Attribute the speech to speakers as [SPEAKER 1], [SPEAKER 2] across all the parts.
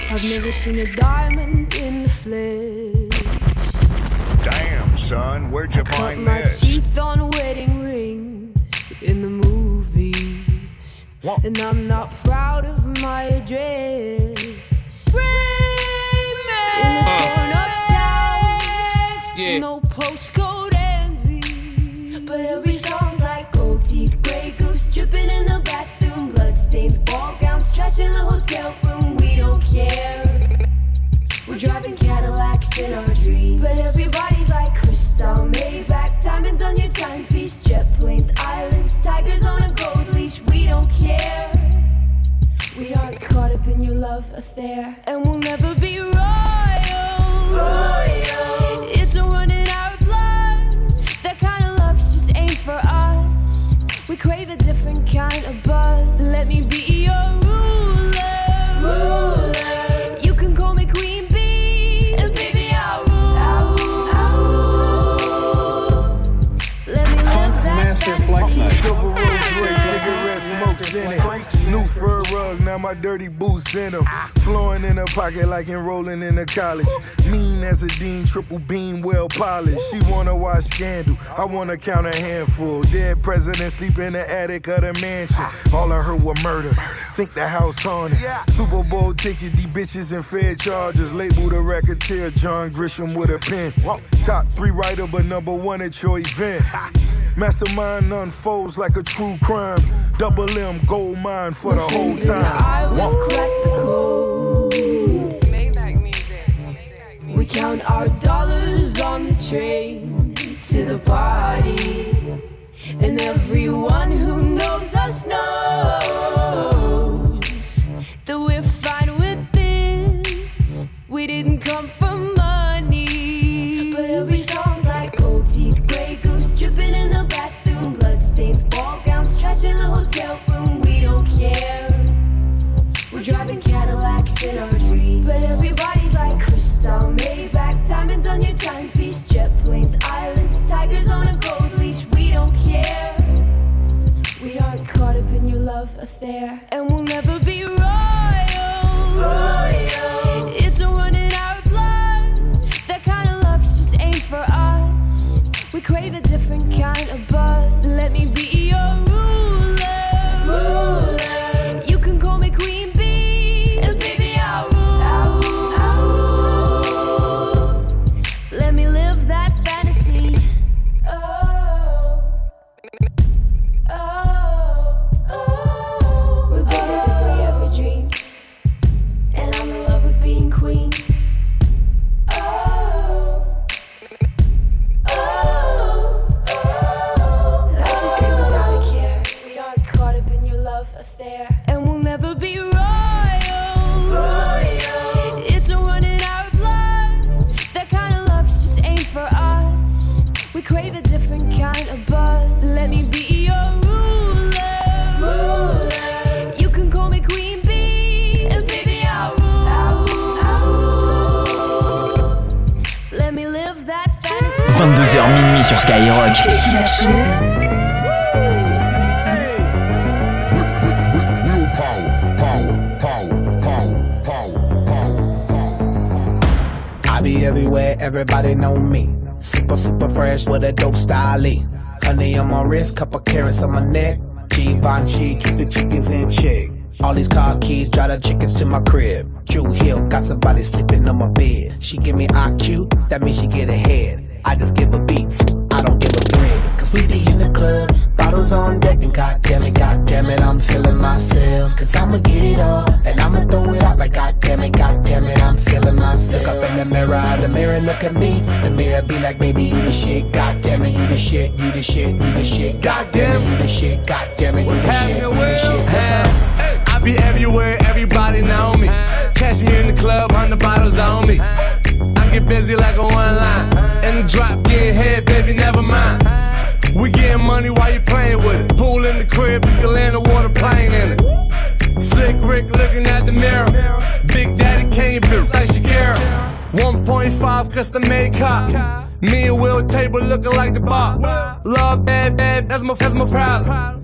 [SPEAKER 1] I've never seen a diamond in the flesh.
[SPEAKER 2] Damn, son, where'd you find this?
[SPEAKER 1] I cut my teeth on wedding rings in the movies. What? And I'm not proud of my address. In the torn up towns, no postcode envy. But every song's like gold teeth, grey goose dripping in the bathroom, bloodstains, ball gowns, trash in the hotel room. We don't care. We're driving Cadillacs in our dreams. But everybody's like crystal, Maybach, diamonds on your timepiece, jet planes, islands, tigers on a gold leash. We don't care. We aren't caught up in your love affair, and we'll never be royals. It's a run in our blood. That kind of luck's just ain't for us. We crave a different kind of buzz. Let me be your ruler. You can call me Queen Bee, and baby I'll rule. Let me live that fantasy.
[SPEAKER 3] Silver Rolls Royce, cigarette smokes in it. New fur rug, now my dirty boots in them. Flowing in her pocket like enrolling in a college. Mean as a dean, triple beam, well polished. She wanna watch Scandal, I wanna count a handful. Dead president sleep in the attic of the mansion. All I heard was murder, think the house haunted. Super Bowl ticket, these bitches and Fed charges. Labeled a racketeer, John Grisham with a pen. Top 3 writer, but number 1 at your event. Mastermind unfolds like a true crime. Double M, gold mine for the whole time.
[SPEAKER 1] We've cracked the code.
[SPEAKER 4] Maybach music.
[SPEAKER 1] We count our dollars on the train to the party. And everyone who knows us knows that we're fine with this. We didn't come for money. But every song's like gold teeth, grey goose dripping in the bathroom, bloodstains, ball gowns, trash in the hotel room. We don't care. We're driving Cadillacs in our dreams. But everybody's like crystal, Maybach, diamonds on your timepiece, jet planes, islands, tigers on a gold leash. We don't care. We aren't caught up in your love affair, and we'll never be royals. It's a run in our blood. That kind of luck's just ain't for us. We crave a different kind of buzz. Let me be your ruler. You can call me Queen Bee, and baby I'll rule. Let me live that fantasy. We're better than we ever dreamed, and I'm in love with being queen. Life is great without a care. We aren't caught up in your love affair, and we'll never be royals. It's a run in our blood. That kind of luck's just ain't for us. We crave a different kind of buzz. Let me be your ruler. You can call me Queen Bee, and baby I'll rule. Let me live that fantasy.
[SPEAKER 5] 22h minuit sur Skyrock.
[SPEAKER 6] I be everywhere, everybody know me. Super fresh with a dope style. Honey on my wrist, couple carrots on my neck. Givenchy, keep the chickens in check. All these car keys, drive the chickens to my crib. Drew Hill, got somebody sleeping on my bed. She give me IQ, that means she get ahead. I just give her beats, I don't give her bread. Cause we be in the club, bottles on deck, and goddamn it, I'm feeling myself. Cause I'ma get it all, and I'ma throw it out like goddamn it, I'm feeling myself. Look up in the mirror look at me. The mirror be like, baby, you the shit, goddamn it, you the shit, you the shit, you the shit, goddamn it, you the shit, goddamn it, you the shit, you the shit.
[SPEAKER 7] I be everywhere, everybody know me. Catch me in the club, 100 bottles on me. I get busy like a one line. In the drop, get head, baby, never mind. We getting money while you playing with it. Pool in the crib, you can land a water plane in it. Slick Rick looking at the mirror. Big Daddy Kane built like Shakira. 1.5 custom made cop. Me and Will table looking like the bar. Love bad, that's my problem.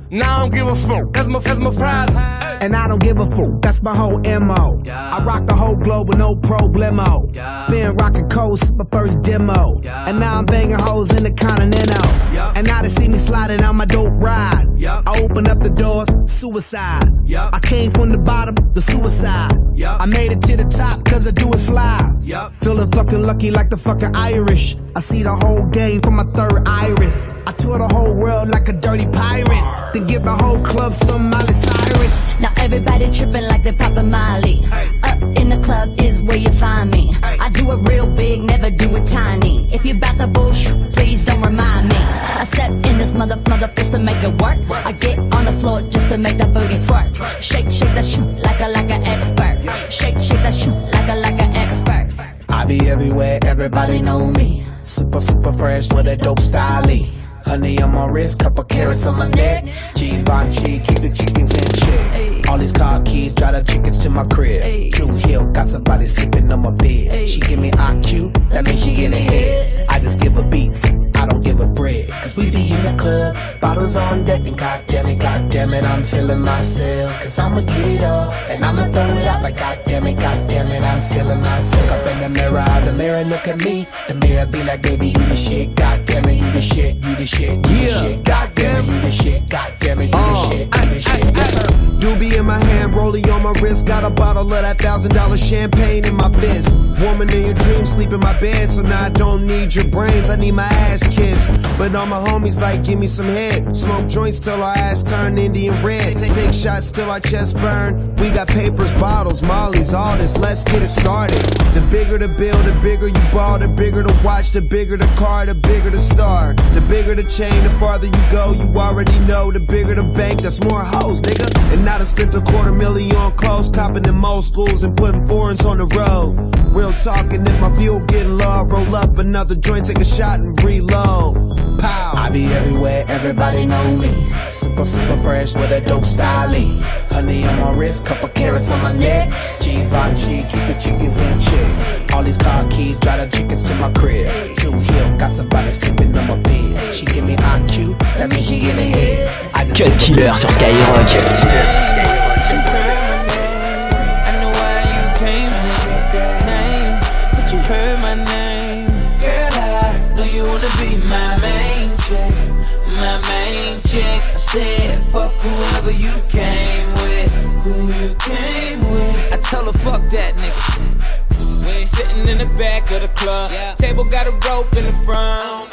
[SPEAKER 7] Now I don't give a fuck, that's my problem.
[SPEAKER 6] And I don't give a fuck, that's my whole MO. I rock the whole globe with no problemo. Been rocking coast, my first demo. And now I'm banging hoes in the Continental. And now they see me sliding on my dope ride. I open up the doors, suicide. I came from the bottom, the suicide. I made it to the top, cause I do it fly. Feeling fucking lucky like the fucking Irish. I see the whole game from my third iris. I tour the whole world like a dirty pirate. Then give the whole club some Miley Cyrus.
[SPEAKER 8] Now everybody tripping like they poppin' Miley. Up in the club is where you find me. I do it real big, never do it tiny. If you bout the bullshit, please don't remind me. I step in this mother fist to make it work. I get on the floor just to make that booty twerk. Shake that shit like an expert. Shake that shit like an expert.
[SPEAKER 6] I be everywhere, everybody know me. Super fresh with a dope style. Honey on my wrist, couple carrots on my neck. Givenchy, keep the chickens in check. All these car keys, drive the chickens to my crib. True Hill, got somebody sleeping on my bed. She give me IQ, that means she get ahead. I just give her beats, I don't give her bread. Cause we be in the club, bottles on deck. And goddamn it, I'm feeling myself. Cause I'ma get it up, and I'ma throw it out like goddamn it, I'm feeling myself. Up in the mirror look at me. The mirror be like, baby, you the shit. Goddamn it, you the shit, you the shit, you the shit. Goddamn it, you the shit. Goddamn it, you the shit, you the shit. Yes, sir. Doobie in my hand, rollie on my wrist. Got a bottle of that $1,000 champagne in my fist. Woman in your dreams, sleep in my bed. So now I don't need your brains, I need my ass kissed. But all my homies like, give me some head. Smoke joints till our ass turn Indian red. Take shots till our chest burn. We got papers, bottles, mollies, all this. Let's get it started. The bigger the bill, the bigger you ball. The bigger the watch, the bigger the car, the bigger the star. The bigger the chain, the farther you go. You already know. The bigger the bank, that's more hoes, nigga. And now I spent $250,000 on clothes, copping in most schools and putting foreigns on the road. Real talking, if my fuel getting low, roll up another joint, take a shot and reload. Pow. I be everywhere, everybody know me. Super fresh with a dope style. Honey on my wrist, couple carrots on my neck. Givenchy, keep the chickens in check. All these car keys, drive the chickens to my crib. True Hill, got somebody sleeping on my bed. She give me IQ, that means she give me head.
[SPEAKER 5] Cut Killer sur Skyrock.
[SPEAKER 9] I said, fuck whoever you came with, who you came with. I tell her, fuck that nigga. Sitting in the back of the club, table got a rope in the front.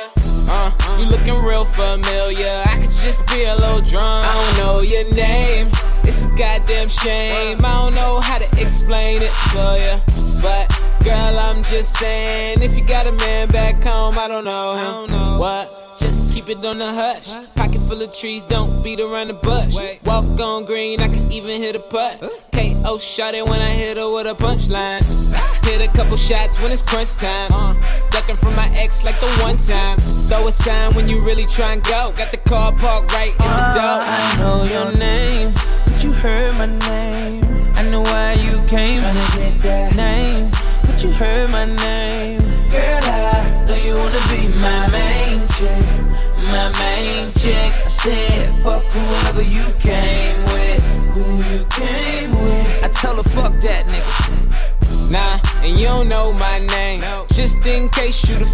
[SPEAKER 9] You looking real familiar. I could just be a little drunk. I don't know your name. It's a goddamn shame. I don't know how to explain it to ya, but girl, I'm just saying, if you got a man back home, I don't know him. What? Just keep it on the hush. Pocket full of trees, don't beat around the bush. Walk on green, I can even hit a putt. KO shot it when I hit her with a punchline. Hit a couple shots when it's crunch time. Ducking from my ex like the one time. Throw a sign when you really try and go. Got the car parked right in the door. I know your name, but you heard my name. I know why you came, tryna get that name, but you heard my name. Girl, I know you wanna be my main chick, my main chick. I said, fuck whoever you came with, who you came with. I tell her, fuck that nigga. Nah, and you don't know my name, just in case you the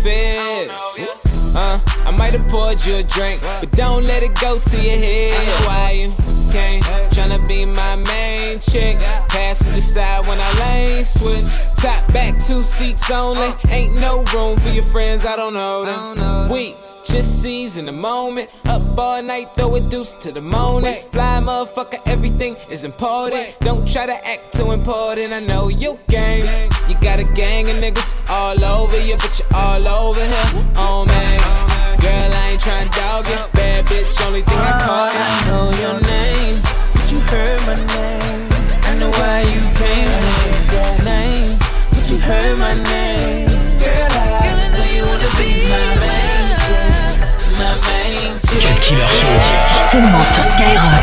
[SPEAKER 9] feds. I might have poured you a drink, but don't let it go to your head. I know why you came, tryna be my main chick. Passenger side when I lane switch. Top back, 2 seats only. Ain't no room for your friends, I don't know them. We just seize in the moment. Up all night, throw a deuce to the morning. Fly motherfucker, everything is important. Don't try to act too important, I know you game. You got a gang of niggas all over you, but you're all over here. Oh man, girl, I ain't tryna dog you. Bad bitch, only thing I call you. I know your name, but you heard my name. I know why you came, I know that name, but you heard my name. Girl, I know you wanna be my main.
[SPEAKER 8] C'est seulement sur Skyrock.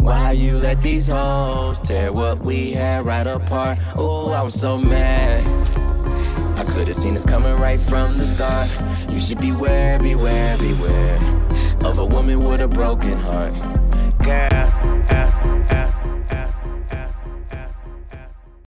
[SPEAKER 10] Why you let these hoes tear what we had right apart? Oh, I was so mad. I could've seen this coming right from the start. You should beware, beware, beware of a woman with a broken heart. Girl,